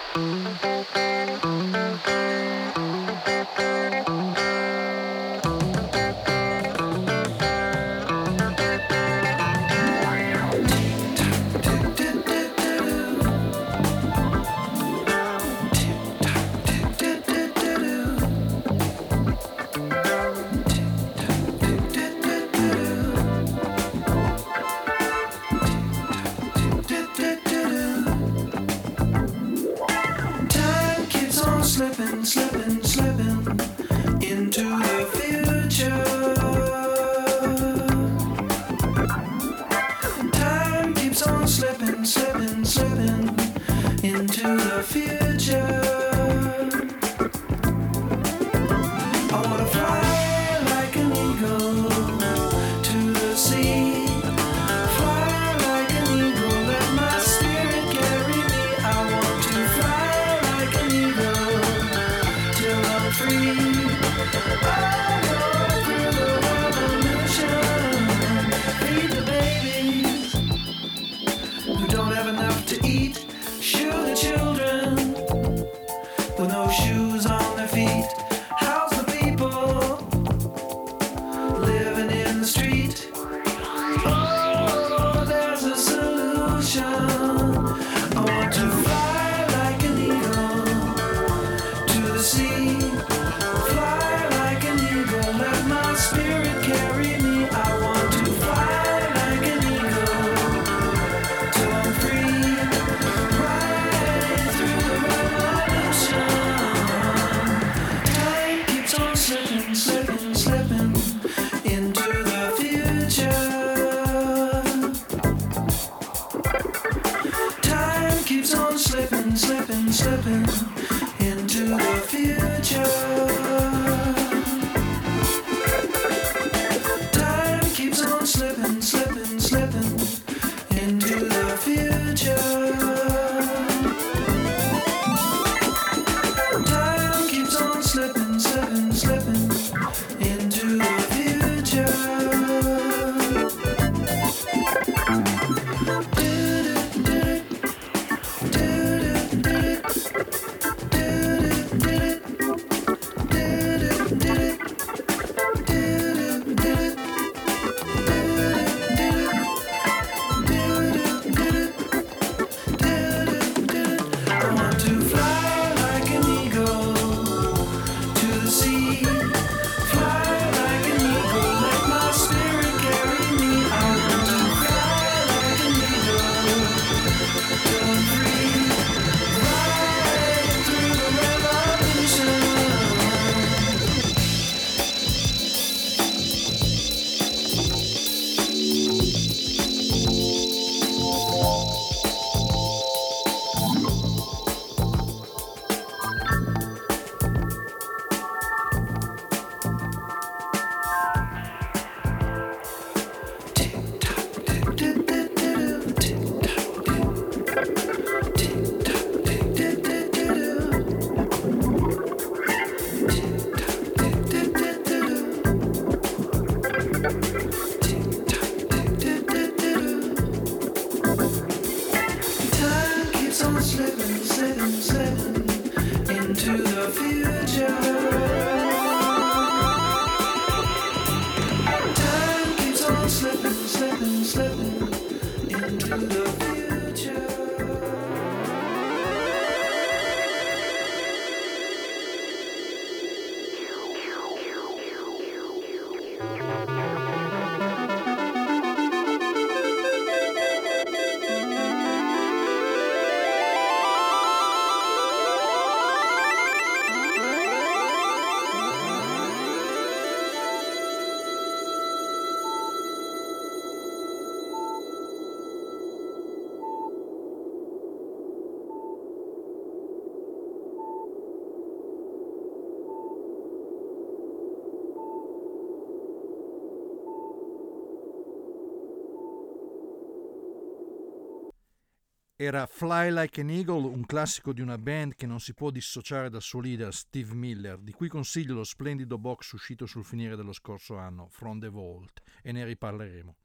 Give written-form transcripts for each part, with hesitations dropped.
Era Fly Like an Eagle, un classico di una band che non si può dissociare dal suo leader Steve Miller, di cui consiglio lo splendido box uscito sul finire dello scorso anno, From the Vault, e ne riparleremo.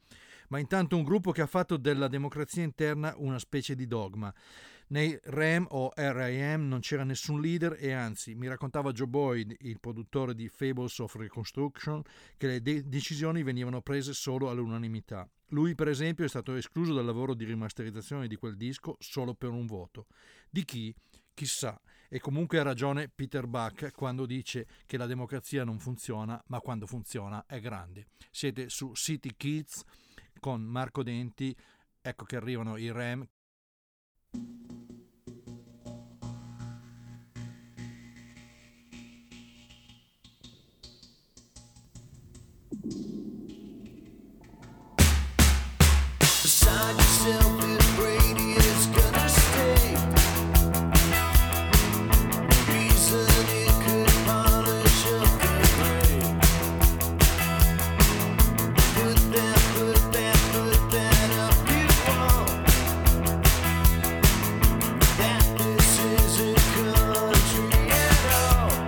ma intanto un gruppo che ha fatto della democrazia interna una specie di dogma. Nei REM o R.I.M. non c'era nessun leader e anzi, mi raccontava Joe Boyd, il produttore di Fables of Reconstruction, che le decisioni venivano prese solo all'unanimità. Lui, per esempio, è stato escluso dal lavoro di rimasterizzazione di quel disco solo per un voto. Di chi? Chissà. E comunque ha ragione Peter Buck quando dice che la democrazia non funziona, ma quando funziona è grande. Siete su City Kids con Marco Denti, ecco che arrivano i REM. Beside yourself with Brady is gonna stay. Reason it could polish up the brain. Put that up you want. That this isn't country at all.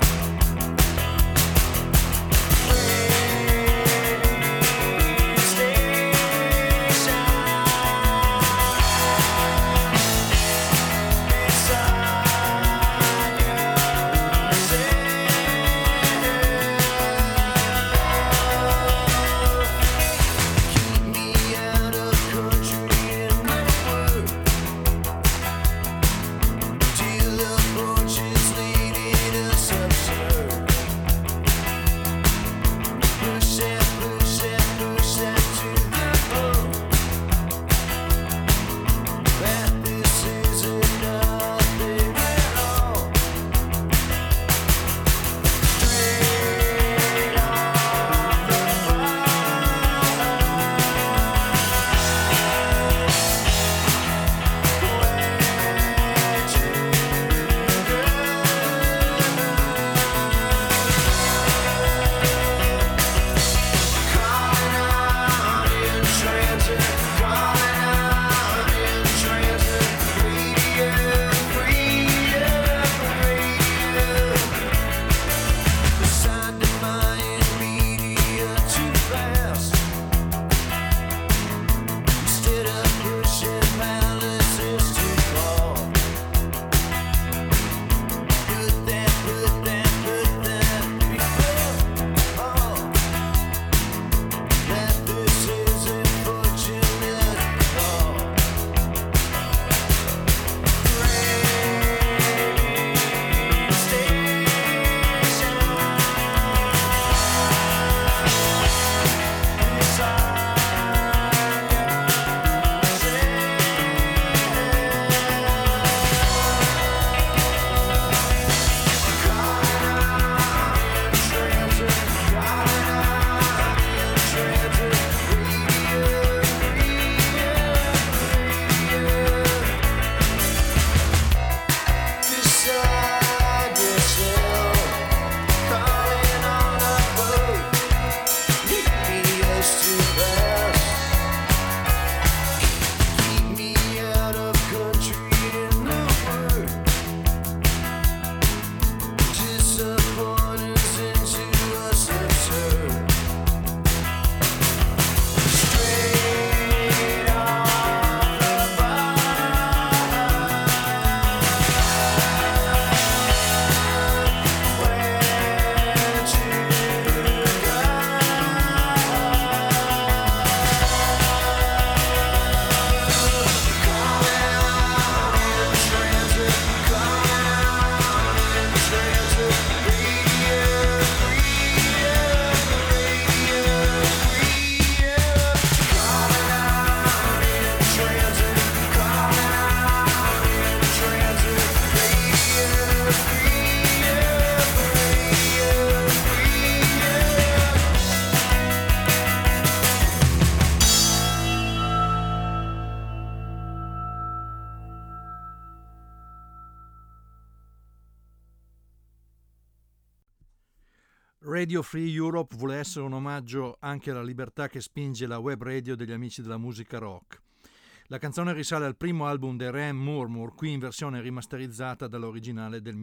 Radio Free Europe vuole essere un omaggio anche alla libertà che spinge la web radio degli amici della musica rock. La canzone risale al primo album dei Ram, Murmur, qui in versione rimasterizzata dall'originale del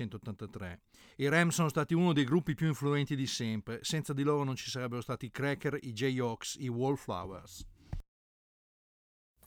1983. I Ram sono stati uno dei gruppi più influenti di sempre, senza di loro non ci sarebbero stati i Cracker, i Jayhawks, i Wallflowers.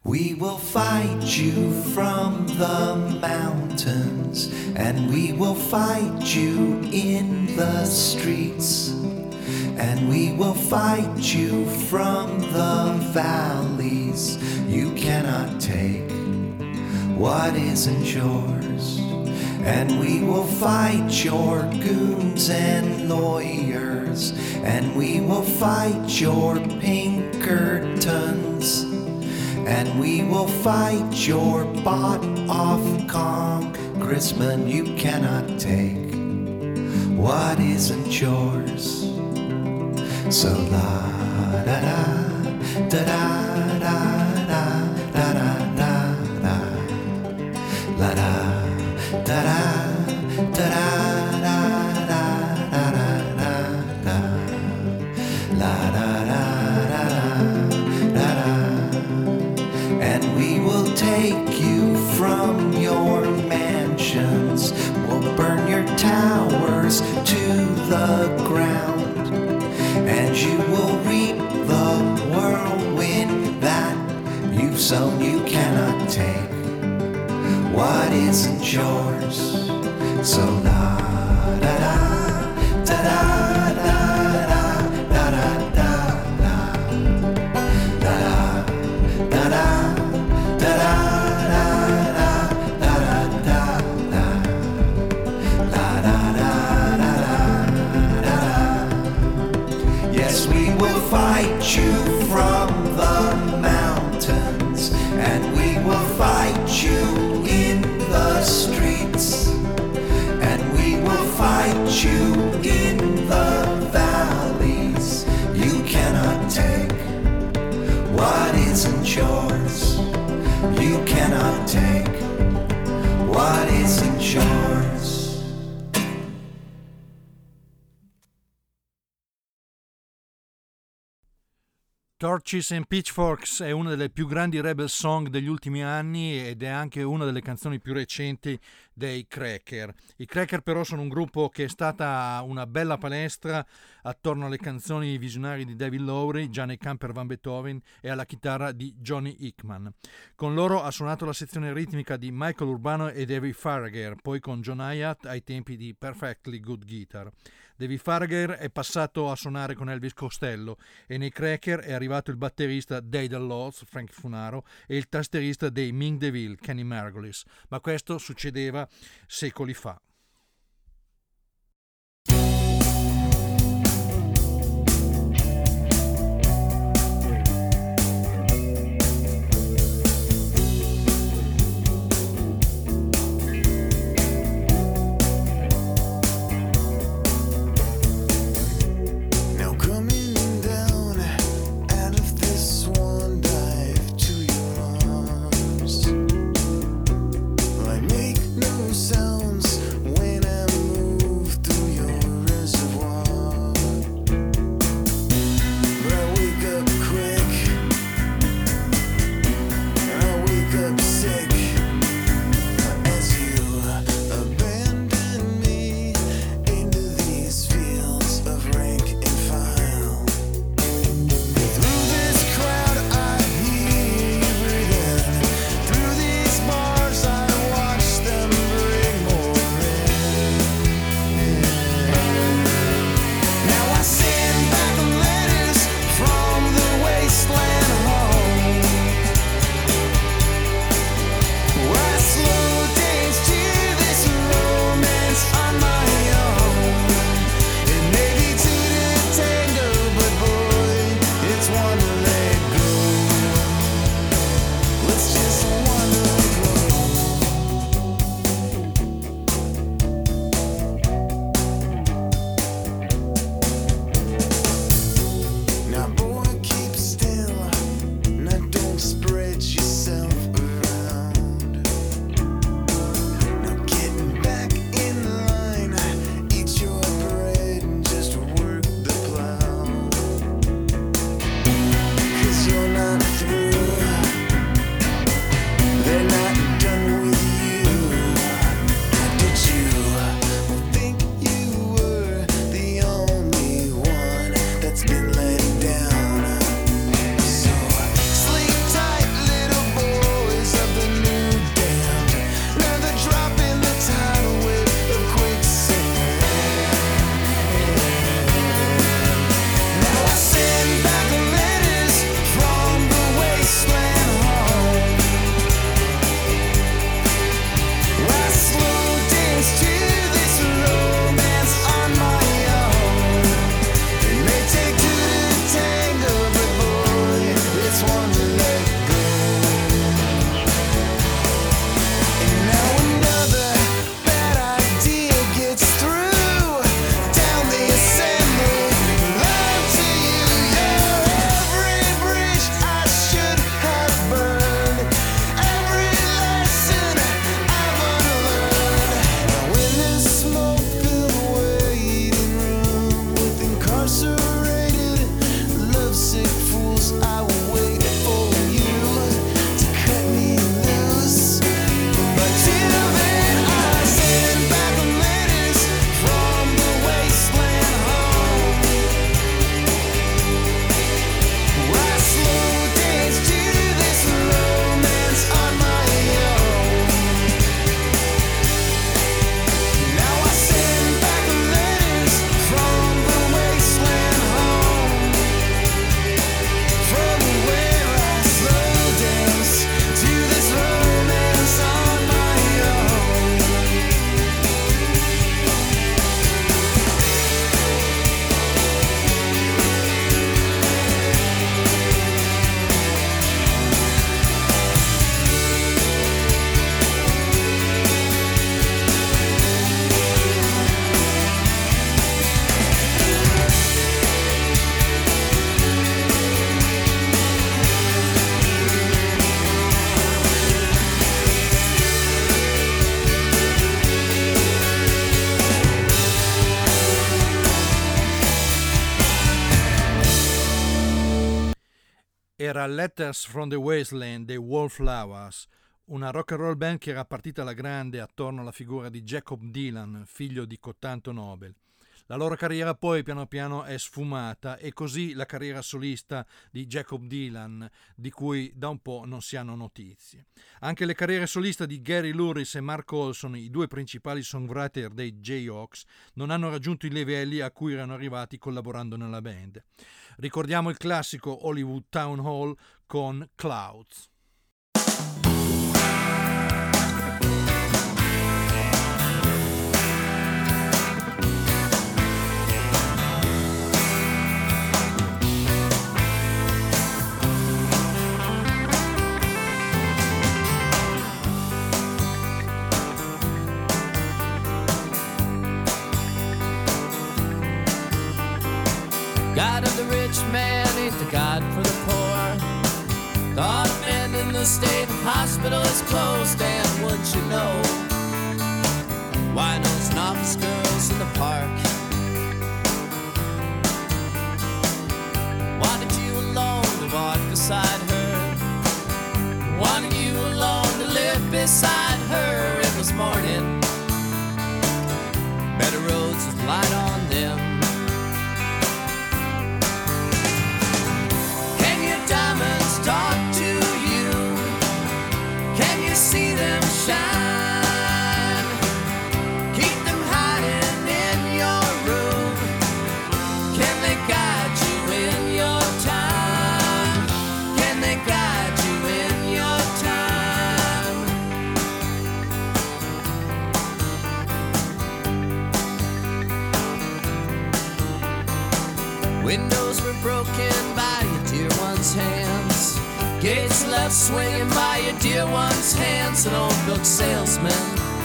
We will fight you from the mountains, and we will fight you in the streets, and we will fight you from the valleys. You cannot take what isn't yours, and we will fight your goons and lawyers, and we will fight your Pinkertons, and we will fight your bought-off congressman. You cannot take what isn't yours. So la da da da da da da da da da la da da da da da da da da la da da da da. And we will take you from your mansions, we'll burn your towers to the ground, and you will reap the whirlwind that you've sown. You cannot take what isn't yours. So la da da da da da da da da da da da da fight you from the mountains, and we will fight you in the streets, and we will fight you in the valleys. You cannot take what isn't yours. You cannot take what isn't yours. Torches and Pitchforks è una delle più grandi rebel song degli ultimi anni ed è anche una delle canzoni più recenti dei Cracker. I Cracker però sono un gruppo che è stata una bella palestra attorno alle canzoni visionari di David Lowery, Gianni Camper Van Beethoven e alla chitarra di Johnny Hickman. Con loro ha suonato la sezione ritmica di Michael Urbano e David Faragher, poi con John Hiatt ai tempi di Perfectly Good Guitar. David Faragher è passato a suonare con Elvis Costello e nei Cracker è arrivato il batterista dei The Lords, Frank Funaro, e il tastierista dei Ming DeVille, Kenny Margolis, ma questo succedeva secoli fa. Sounds Era Letters from the Wasteland dei Wallflowers, una rock and roll band che era partita alla grande attorno alla figura di Jacob Dylan, figlio di cotanto Nobel. La loro carriera poi piano piano è sfumata e così la carriera solista di Jacob Dylan, di cui da un po' non si hanno notizie. Anche le carriere soliste di Gary Louris e Mark Olson, i due principali songwriter dei Jayhawks, non hanno raggiunto i livelli a cui erano arrivati collaborando nella band. Ricordiamo il classico Hollywood Town Hall con Clouds. God of the rich man ain't the God for the poor. Thought of men in the state hospital is closed, and wouldn't you know, winos and office girls in the park. Wanted you alone to walk beside her, wanted you alone to live beside her. It was morning, better roads with light on them. Diamonds talk to you. Can you see them shine? Keep them hiding in your room. Can they guide you in your time? Can they guide you in your time? Windows were broken by dear one's hands, gates left swinging by your dear one's hands. An old book salesman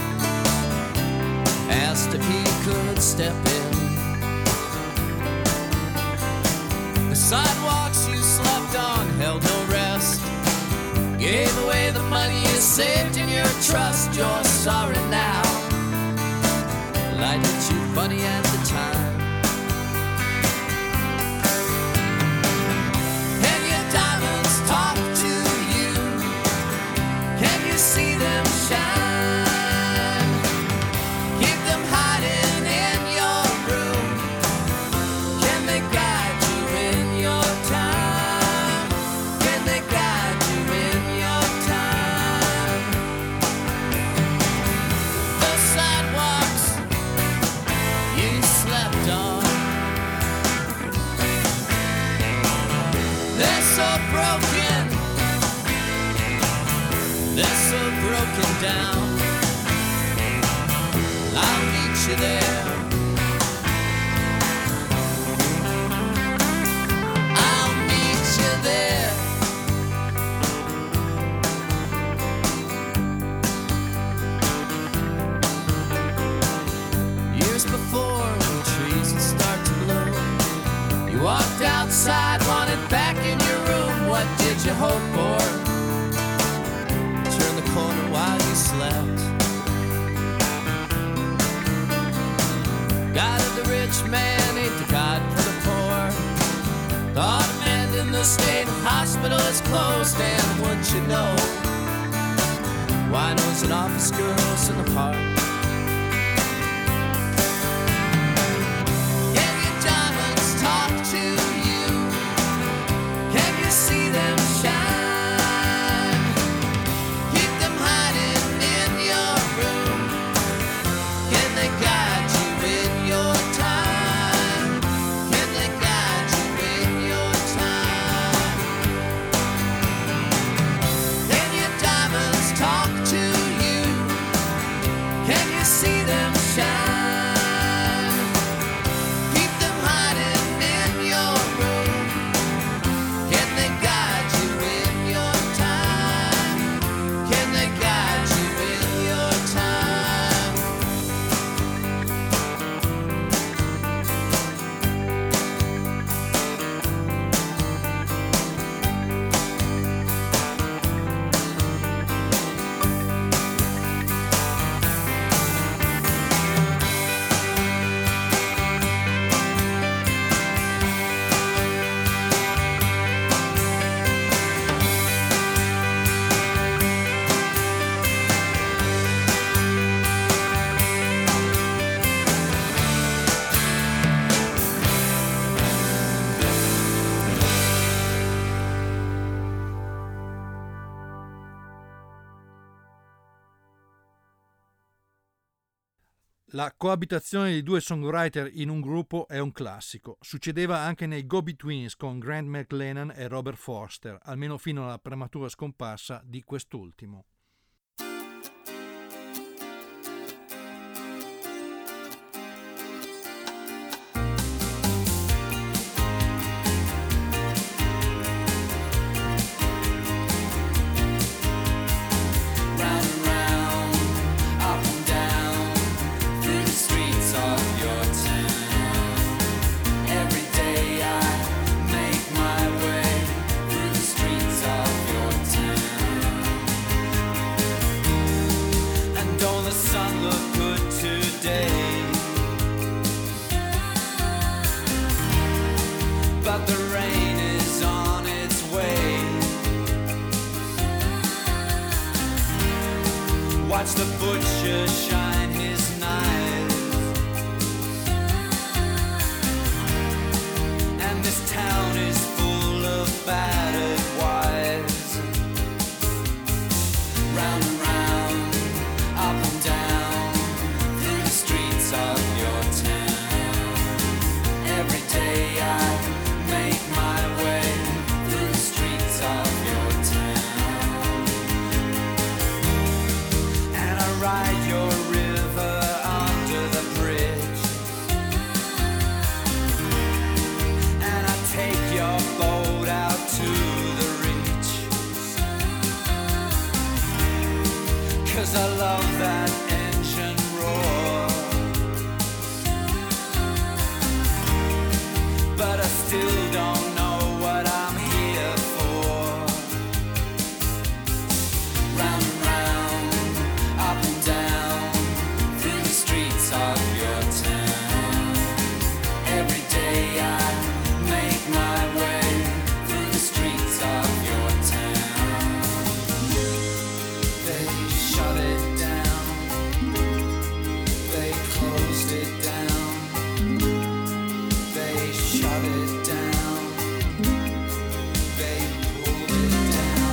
asked if he could step in. The sidewalks you slept on held no rest, gave away the money you saved in your trust. You're sorry now, light hit you funny at the time. See them shine. Keep them hiding in your room. Can they guide you in your time? Can they guide you in your time? The sidewalks you slept on, they're so broken, they're so broken down. I'll meet you there. I'll meet you there. Years before, when trees would start to bloom, you walked outside, wanted back in your room. What did you hope for? Turn the corner while you slept. God of the rich man ain't the God for the poor. Thought a man in the state hospital is closed, and wouldn't you know, winos and office girls in the park. Can your diamonds talk to you? Can you see them shine? Can La coabitazione di due songwriter in un gruppo è un classico. Succedeva anche nei Go-Betweens con Grant McLennan e Robert Forster, almeno fino alla prematura scomparsa di quest'ultimo. Watch the butcher shine his knife, and this town is full of battered wives. Round and round, up and down, through the streets of your town. Every day I make my way through the streets of your town, and I ride your river under the bridge, and I take your boat out to the reach, 'cause I love that engine roar, but I still don't know what I'm here for. Round and round, up and down, through the streets of your town. Every day I make my way through the streets of your town. They shut it down, they closed it down, they shut it down, they pulled it down.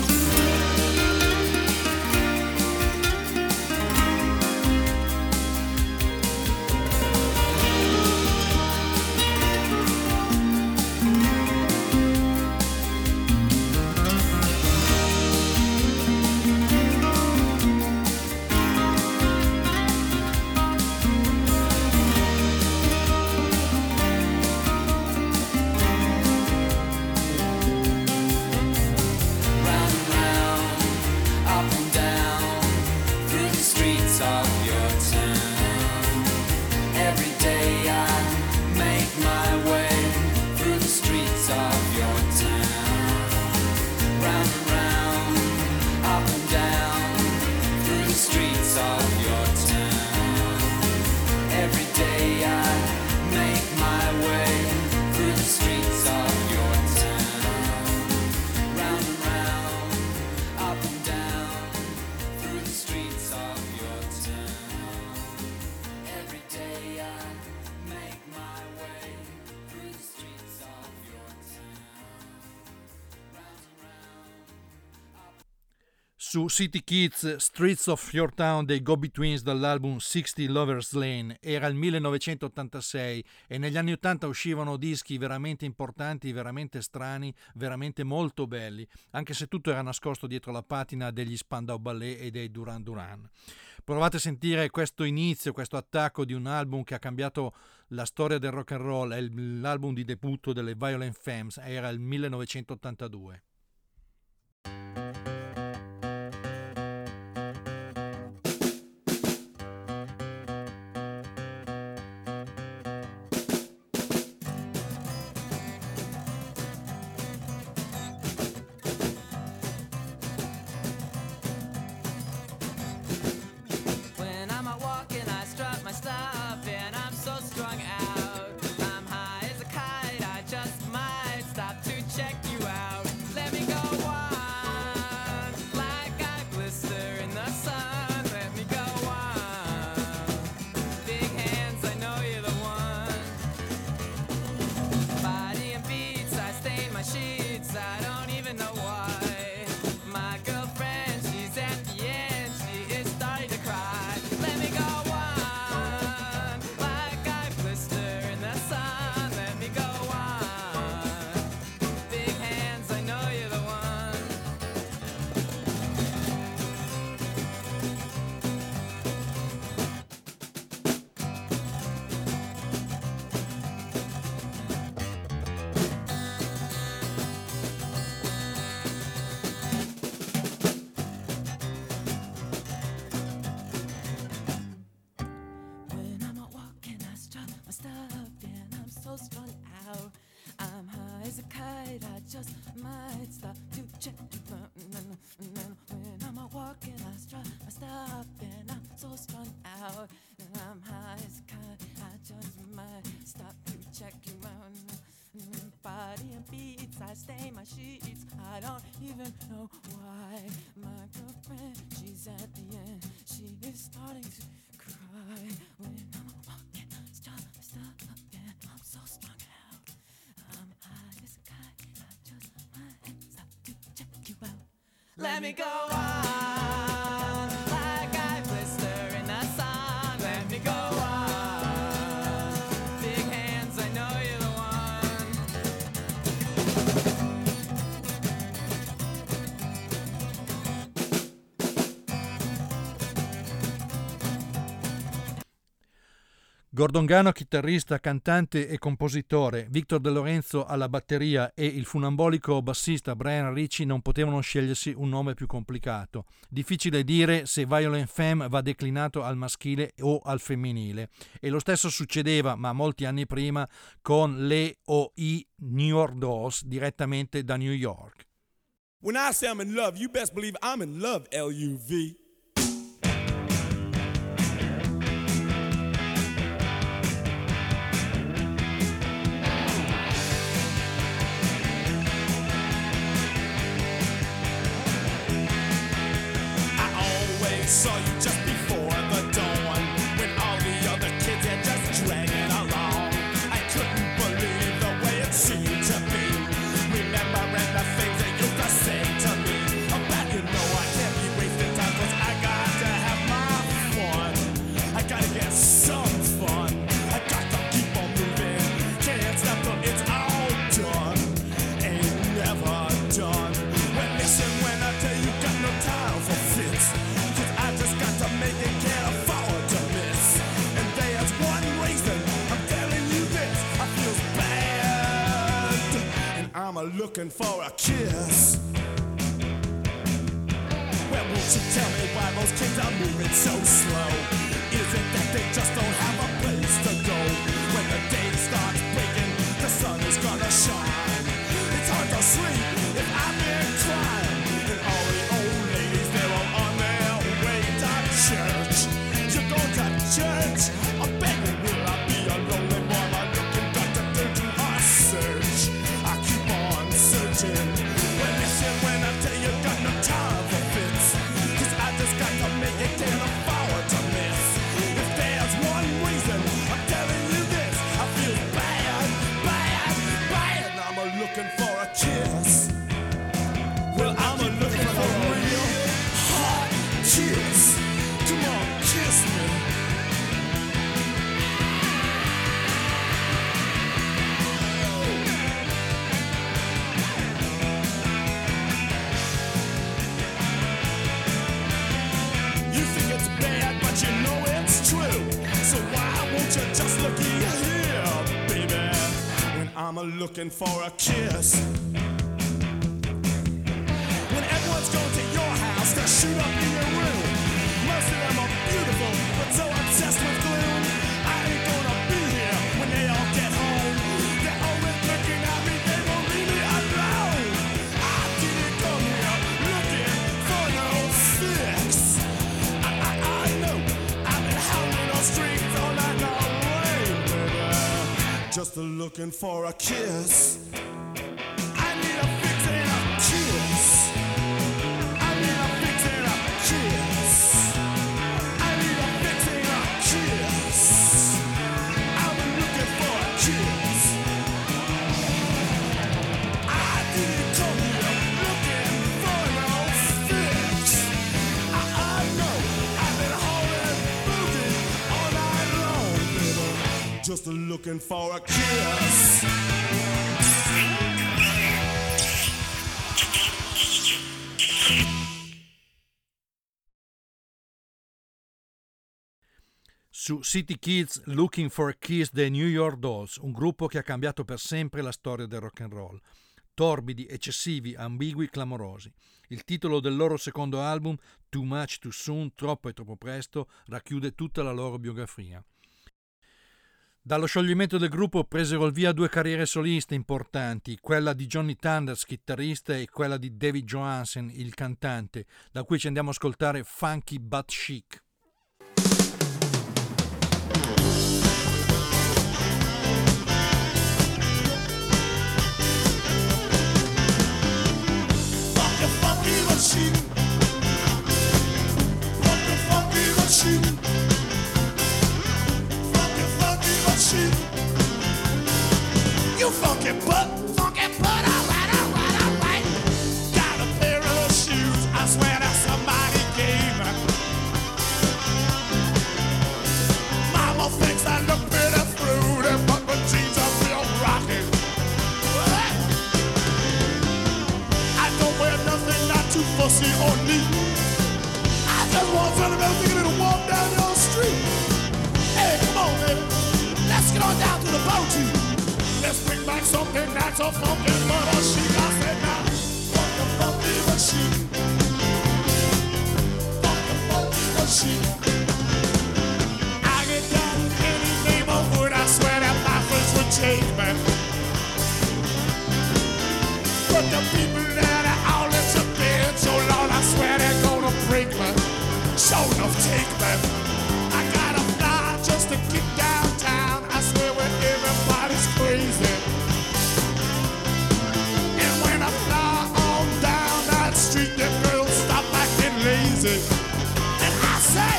Round and round, up and down, through the streets of your town. Every day I make my way through the streets of your town. Round and round, up and down, through the streets of your town. Every day I make my way through the streets of your town. Round and round, up and down, through the streets of your town. Every day I make my way through the streets of your town. Round and round. Su City Kids, Streets of Your Town dei Go-Betweens dall'album 60 Lovers Lane era il 1986 e negli anni 80 uscivano dischi veramente importanti, veramente strani, veramente molto belli, anche se tutto era nascosto dietro la patina degli Spandau Ballet e dei Duran Duran. Provate a sentire questo inizio, questo attacco di un album che ha cambiato la storia del rock and roll, è l'album di debutto delle Violent Femmes, era il 1982. When I'm out walking, I strut my stuff, and I'm so strung out. I'm high as a kite, I just might stop to check you out. Let my stuff and I'm so strung out. I'm high as a kite, I just might stop to check you out. And then when I'm out walking, I strut my stuff and I'm so strung out. And I'm high as a kite, I just might stop to check you out. Body and beats, I stain my sheets. I don't even know why. My girlfriend, she's at the end. She is starting to cry when I'm walking, strut my stuff and I'm so strung out. I'm high as a kite, I just might stop to check you out. Let me go on like I blister in the sun. Let me go on. Big hands, I know you're the one. Gordon Gano, chitarrista, cantante e compositore, Victor De Lorenzo alla batteria e il funambolico bassista Brian Ritchie non potevano scegliersi un nome più complicato. Difficile dire se Violent Femme va declinato al maschile o al femminile. E lo stesso succedeva, ma molti anni prima, con le o i New York Dolls direttamente da New York. When I say I'm in love, you best believe I'm in love, L-U-V. Saw you just before the dawn, when all the other kids had just dragging along. I couldn't believe the way it seemed to be, remembering the things they used to say to me about, you know, I can't be wasting time, 'cause I got to have my fun. I gotta get some fun. I got to keep on moving. Can't stop till it's all done. Ain't never done. Well, listen, when I tell you, got no time for fits. I just got to make it, can't afford to miss. And there's one reason I'm telling you this, I feel bad, and I'm looking for a kiss. Well, won't you tell me why those kids are moving so slow? Is it that they just don't have a place to go? When the day starts breaking, the sun is gonna shine. It's hard to sleep if I've been crying. And all the old ladies, they're all on their way to church. You go to church? I beg you, will I be a lonely boy? I'm looking back to do a search. I keep on searching. Well, listen, when I tell you, got no time for fits, 'cause I just got to make it, can't afford to miss. If there's one reason I'm telling you this, I feel bad, bad, bad. I'm looking for a kiss. Well, I'm looking for a real hot kiss. Come on, kiss me. You think it's bad, but you know it's true. So why won't you just look here, baby, when I'm looking for a kiss? When everyone's going to your house to shoot up in your room, most of them are beautiful, but so obsessed with gloom. I ain't gonna be here when they all get home. They're always looking at me, they won't leave me alone. I didn't come here looking for no fix. I know I've been hounding those streets all night long, baby, just looking for a kiss. I need a fix and a kiss. I need a fix and a kiss. I need a fix and a kiss. I've been looking for a kiss. I didn't come here looking for no fix. I know I've been holding boogie all night long, baby, just looking for a kiss. Su City Kids Looking for a Kiss dei New York Dolls, un gruppo che ha cambiato per sempre la storia del rock and roll. Torbidi, eccessivi, ambigui, clamorosi. Il titolo del loro secondo album, Too Much Too Soon, Troppo e troppo presto, racchiude tutta la loro biografia. Dallo scioglimento del gruppo presero il via 2 carriere soliste importanti, quella di Johnny Thunders, chitarrista, e quella di David Johansen, il cantante, da cui ci andiamo a ascoltare Funky But Chic. Funky but chic. Funky but chic. Funky. You funky butt, alright. Got a pair of shoes, I swear that somebody gave me. Mama thinks I look pretty fruity, but my jeans are real rocking. I don't wear nothing not too fussy or neat. I just want something thinking it'll walk down your street. Hey, come on, baby. Let's get on down to the boaty. Let's bring back something that's a funky but a chic. I said now, funky but chic. Funky but chic. I get down any neighborhood, I swear that my friends would take me. But the people that are all into bed so long, I swear they're gonna break me. Sure enough, take me. I gotta fly just to get downtown. I swear where everybody's crazy. And when I fly on down that street, them girls stop acting lazy. And I say,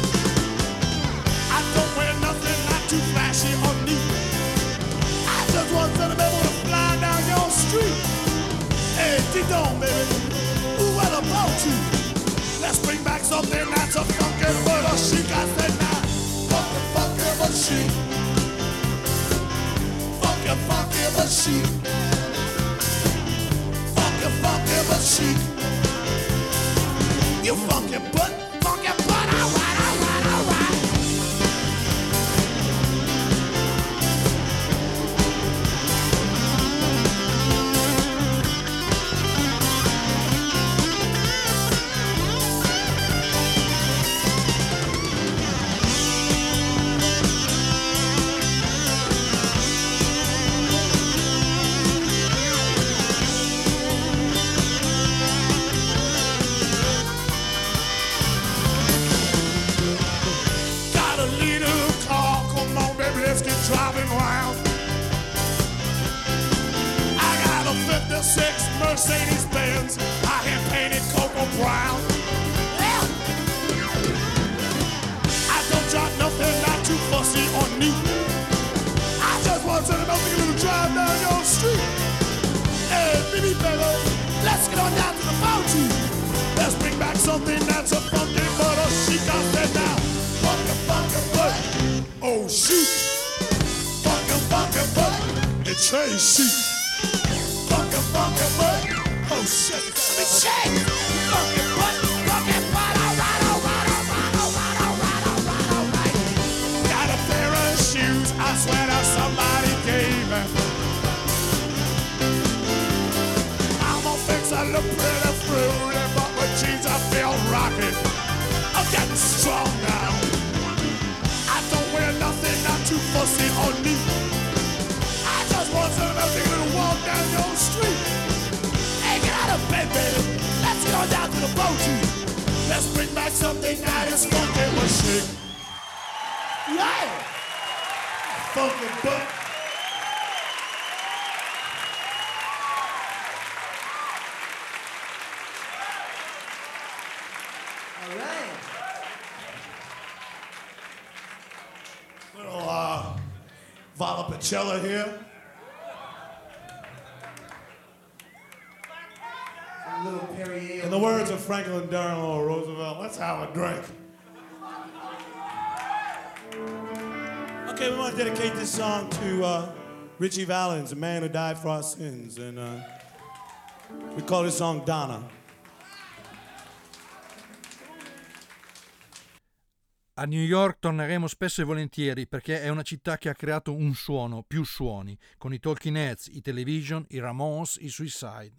I don't wear nothing not too flashy or neat. I just want something to fly down your street. Hey, Didon, baby, who will about you? Let's bring back something that's a funky but a chic. I said now, funky but chic. Funky but chic. Funky but chic. You funky but alright. Driving wild. I got a 56 Mercedes-Benz, I had painted cocoa brown. Yeah. I don't drive nothing not too fussy or neat. I just want to know a little drive down your street. Hey, baby, let's get on down to the bounty. Let's bring back something that's a funky but a chic. I said now, funky but oh shoot. Funky butt, it changed sheet. Funky butt, oh shit, let me shake. Funky butt, alright. Got a pair of shoes, I swear that somebody gave me. Mama thinks I look pretty fruity, but with jeans I feel rocky. I'm getting strong now. I don't wear nothing not too fussy or neat. Want something to walk down your street. Hey, get out of bed, baby. Let's get on down to the boaty. Let's bring back something that is funky but chic. Yeah! Funky butt. All right. Little Valpolicella here. Little Perrier. In the words of Franklin Delano Roosevelt, let's have a drink. Okay, we want to dedicate this song to Richie Valens, a man who died for our sins, and we call this song Donna. A New York torneremo spesso e volentieri perché è una città che ha creato un suono, più suoni, con i Talking Heads, i Television, i Ramones, i Suicide.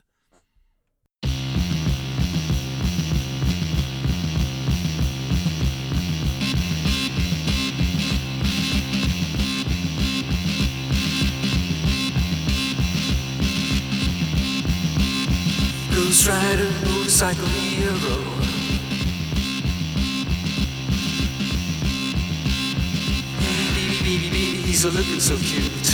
Ghost rider, motorcycle hero. Baby, he's a looking so cute.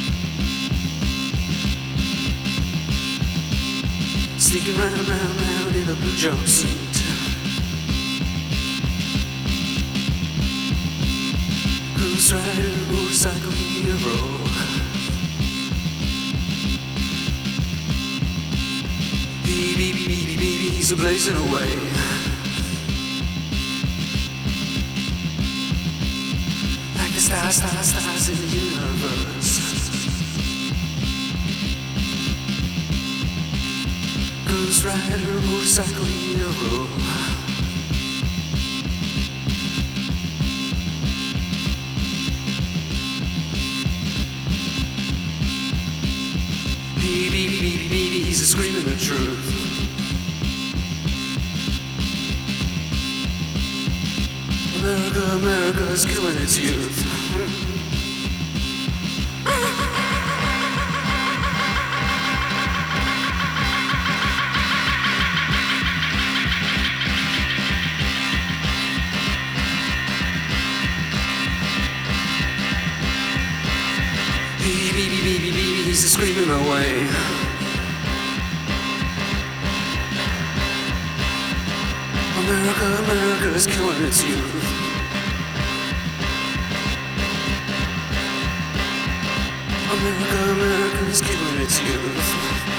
Sneaking round in a blue jumpsuit. Ghost rider, motorcycle hero. Baby, he's a blazing away. Like the stars in the universe. Ghost rider, motorcycle hero. Baby, he's a screaming the truth. America's killing its youth. Baby, he's screaming away. America's killing its youth. America's killing its youth.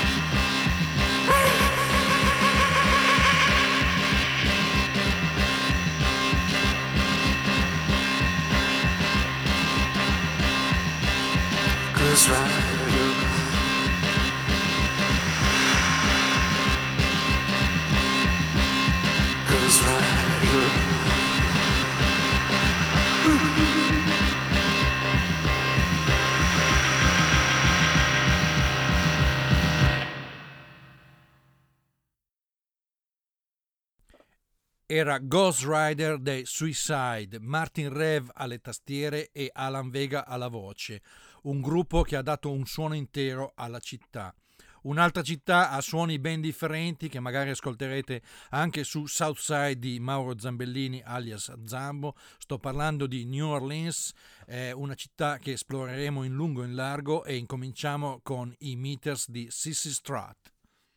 Ghost rider. Ghost rider. Era Ghost Rider dei Suicide, Martin Rev alle tastiere e Alan Vega alla voce, un gruppo che ha dato un suono intero alla città. Un'altra città ha suoni ben differenti che magari ascolterete anche su Southside di Mauro Zambellini alias Zambo. Sto parlando di New Orleans, una città che esploreremo in lungo e in largo, e incominciamo con i Meters di Sissy Strut.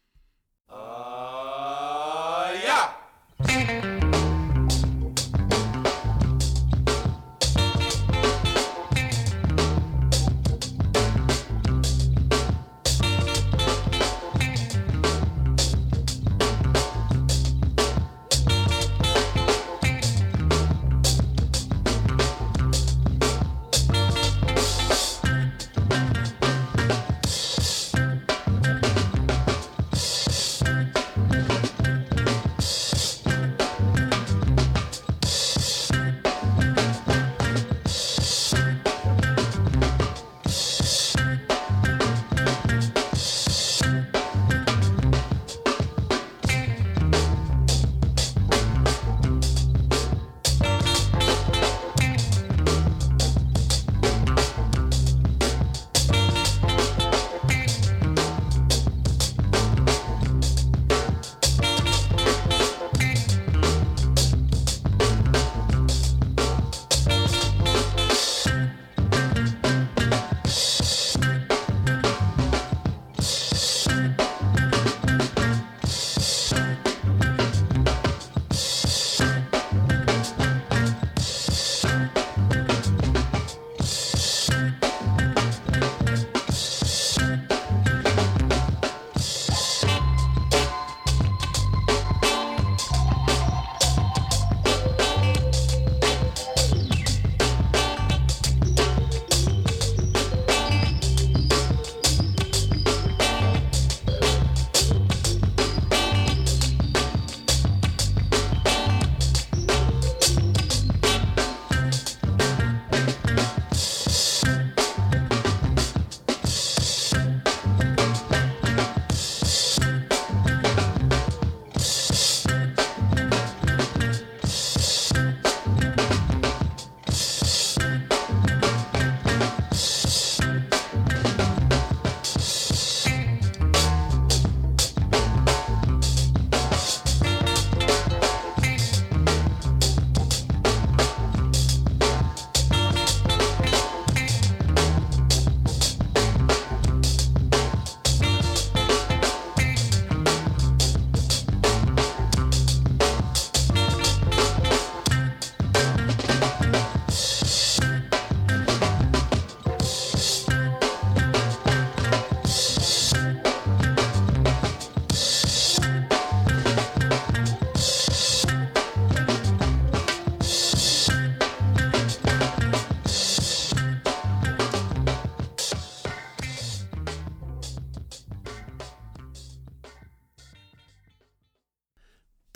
Yeah!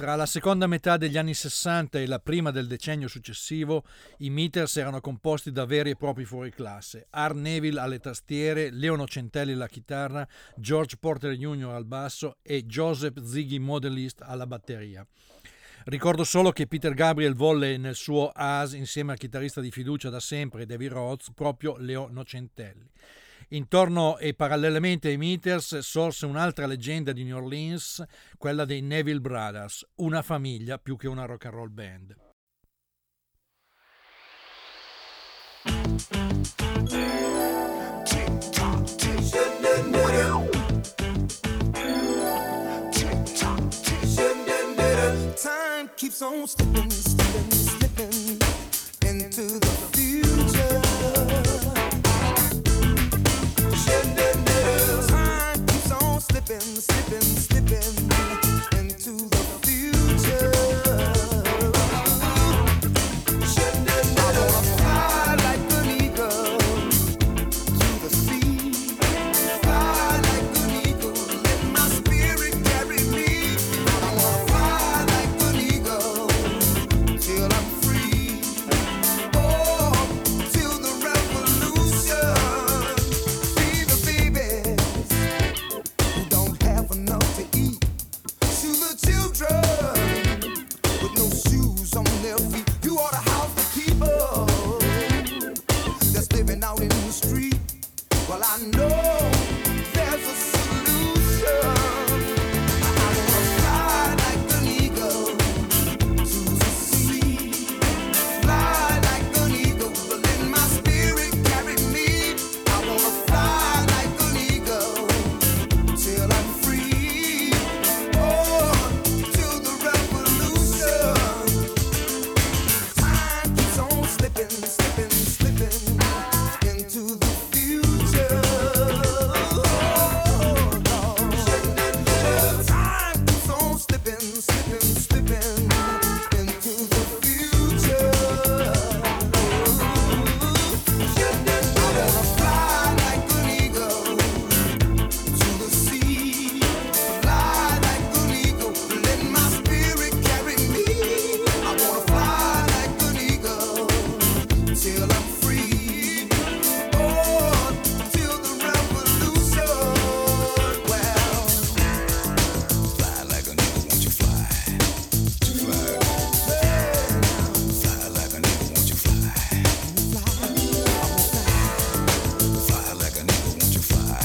Tra la seconda metà degli anni 60 e la prima del decennio successivo, i Meters erano composti da veri e propri fuoriclasse. Art Neville alle tastiere, Leo Nocentelli alla chitarra, George Porter Jr. al basso e Joseph Ziggy Modelist alla batteria. Ricordo solo che Peter Gabriel volle nel suo AS, insieme al chitarrista di fiducia da sempre David Rhodes, proprio Leo Nocentelli. Intorno e parallelamente ai Meters sorse un'altra leggenda di New Orleans, quella dei Neville Brothers, una famiglia più che una rock and roll band. Time keeps on slipping, slipping, slipping into the future. Time keeps on slipping, slipping, slipping into the future. I wanna fly like an eagle to the sea. Fly like an eagle, let my spirit carry me. I wanna fly like an eagle till I'm free. Oh, till the revolution. See the babies who don't have enough to eat. To the children with no shoes on their feet. You ought to house the people that's living out in the street. Well, I know there's a solution. I wanna fly like an eagle to the sea. Fly like an eagle, let my spirit carry me. I wanna fly like an eagle till I'm free. Oh, till the revolution. Time keeps on slipping, slipping, slipping into the future. Oh, Lord. Time keeps on slipping, slipping, slipping into the future. I wanna fly like an eagle to the sea. Fly like an eagle, let my spirit carry me. I wanna fly like an eagle till I'm free. Oh, till the revolution. Well, fly like an eagle, won't you fly? Fly. Fly like an eagle, won't you fly? Fly like an eagle, won't you fly?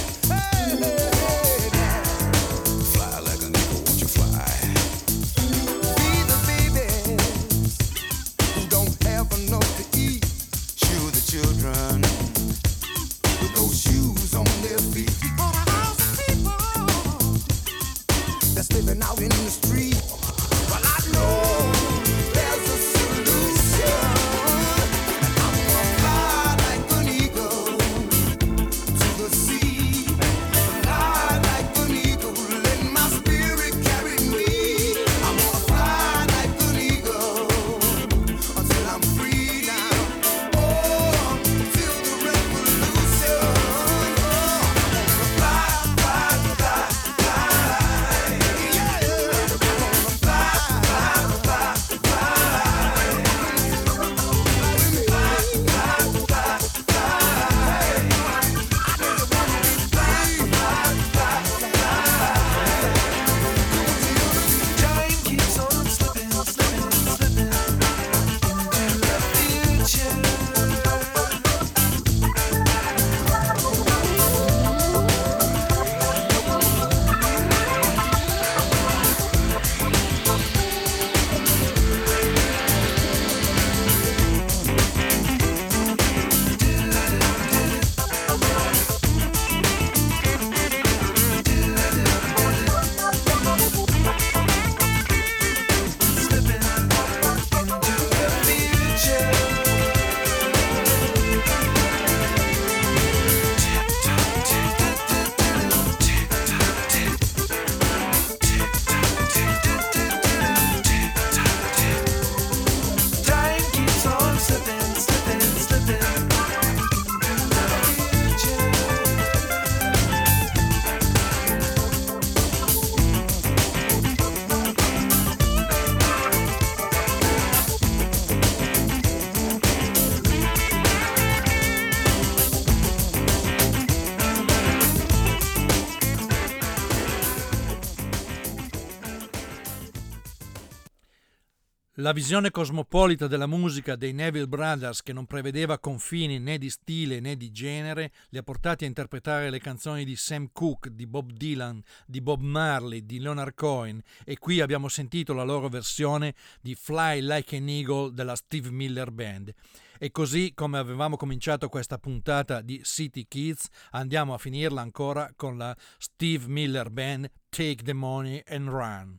Fly like an eagle, won't you fly? Be the babies who don't have enough to eat. Shoe the children with no shoes on their feet. For the house of people that's living out in the street. Well, I know there's a solution. I'm gonna fly like an eagle to the sea. Fly like an eagle, let my spirit carry me. I'm gonna fly like an eagle until I'm free now. Oh, till La visione cosmopolita della musica dei Neville Brothers, che non prevedeva confini né di stile né di genere, li ha portati a interpretare le canzoni di Sam Cooke, di Bob Dylan, di Bob Marley, di Leonard Cohen, e qui abbiamo sentito la loro versione di Fly Like an Eagle della Steve Miller Band. E così come avevamo cominciato questa puntata di City Kids, andiamo a finirla ancora con la Steve Miller Band, Take the Money and Run.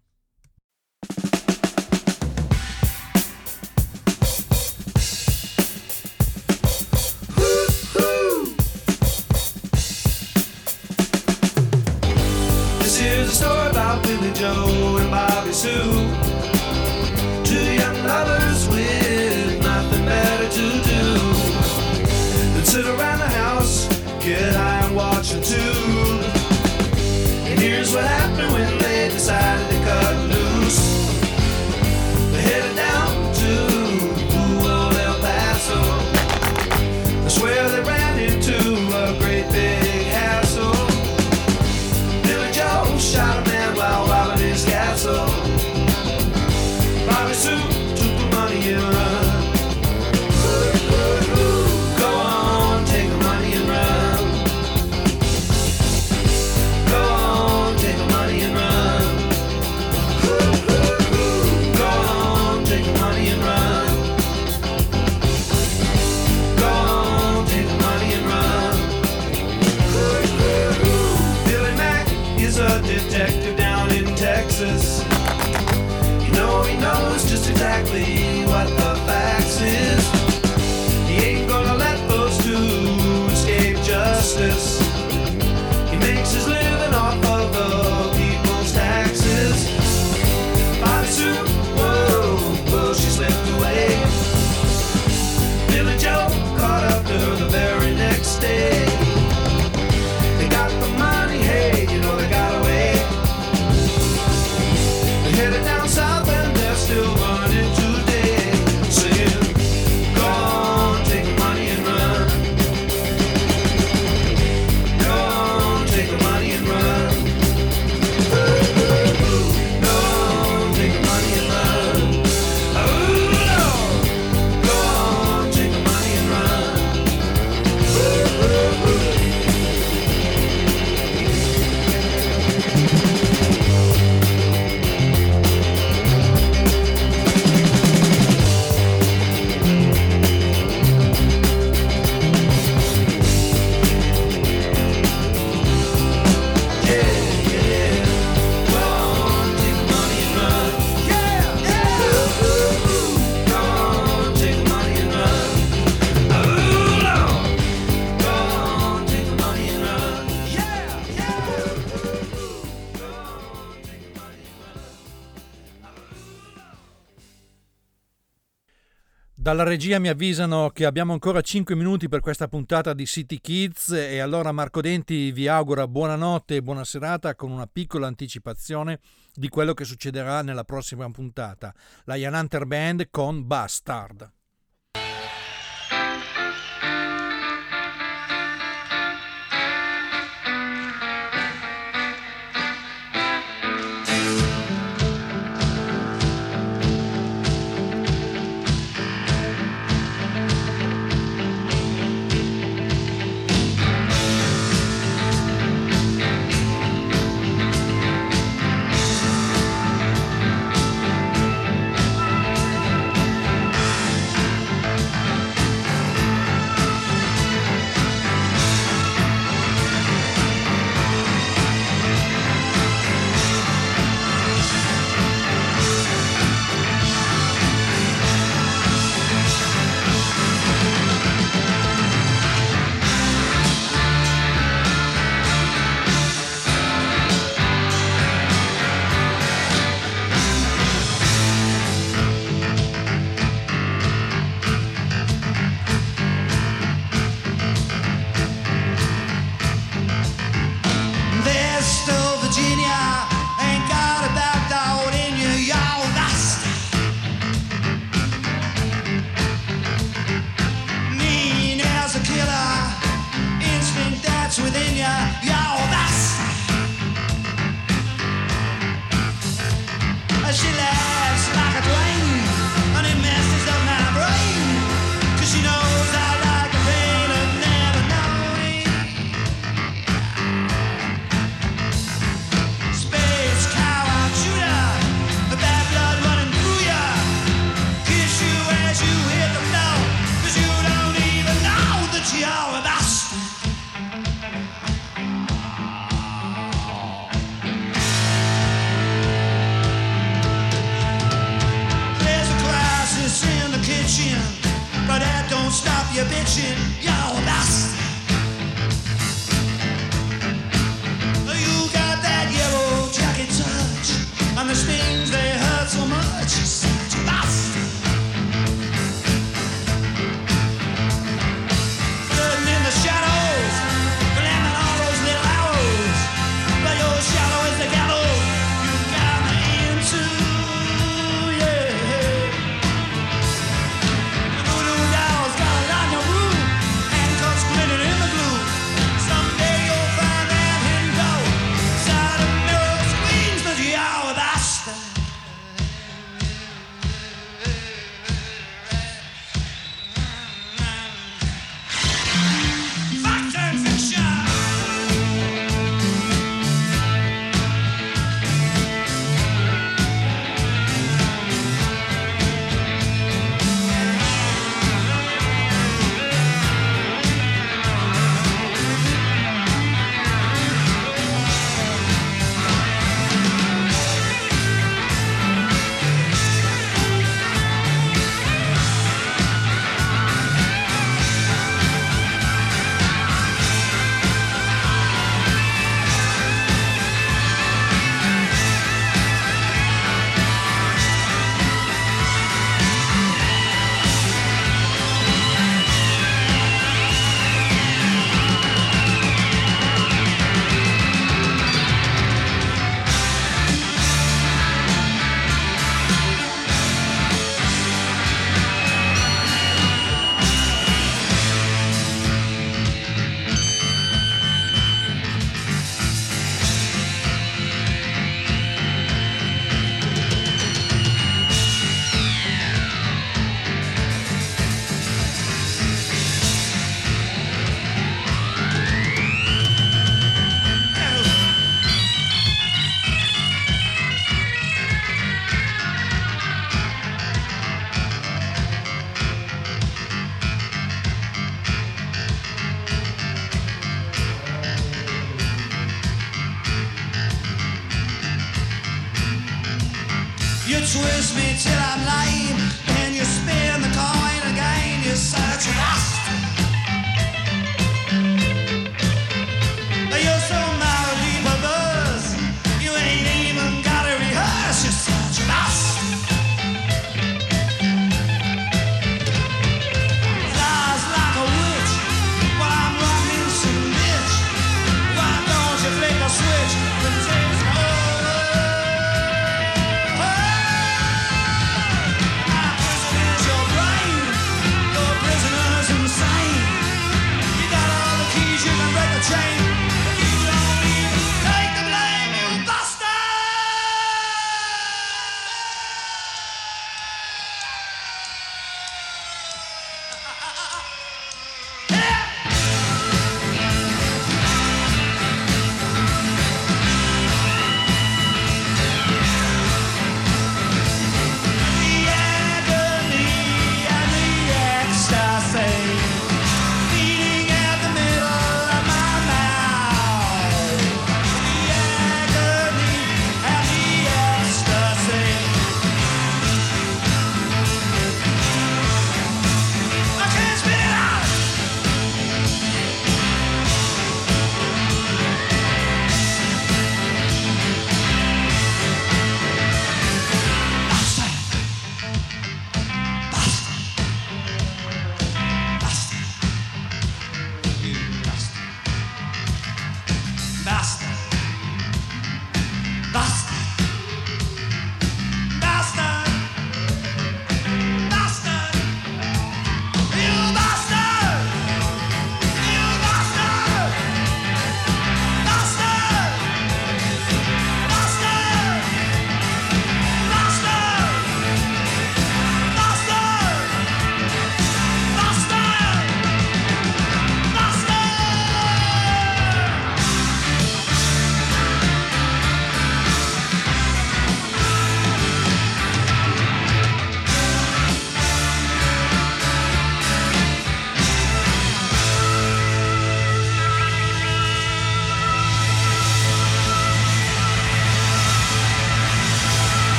Here's a story about Billy Joe and Bobby Sue, two young lovers with nothing better to do than sit around the house, get high and watch a tube. And here's what happened when they decided to cut loose. They headed down to old El Paso. I swear they ran into a great big hassle. Shot a man while robbing his castle. Bobby Sue took the money and run. Go on, take the money and run. Go on, take the money and run. Go on, take the money and run. Go on, take the money and run. Billy Mack is a detective down in Texas. You know he knows just exactly what the facts is. He ain't gonna let those two escape justice. He makes his living off of the people's taxes. Bobby Sue, whoa, whoa, she slipped away. Billy Joe caught up to her the very next day. They got the money, hey, you know they got away. They headed down south and they're still running today, saying, go on, take the money and run. Go on, take the money and run. Go on, take the money and run. Oh, Lord. Go on, take the money and run. Dalla regia mi avvisano che abbiamo ancora 5 minuti per questa puntata di City Kids, e allora Marco Denti vi augura buonanotte e buona serata con una piccola anticipazione di quello che succederà nella prossima puntata, la Ian Hunter Band con Bastard. reaching your best. You got that yellow jacket touch, and the stings they hurt so much. Such a bust. Floating in the shadows, glamming all those little hours. But your shadow is the gallows you got me into, yeah. The voodoo doll's got a lot of room, handcuffs glinting in the glue. Someday you'll find that hidden door inside a mirror screens, but you're the star. Fact and fiction. You twist me till I'm lame, and you spin the coin again. You're such a bastard.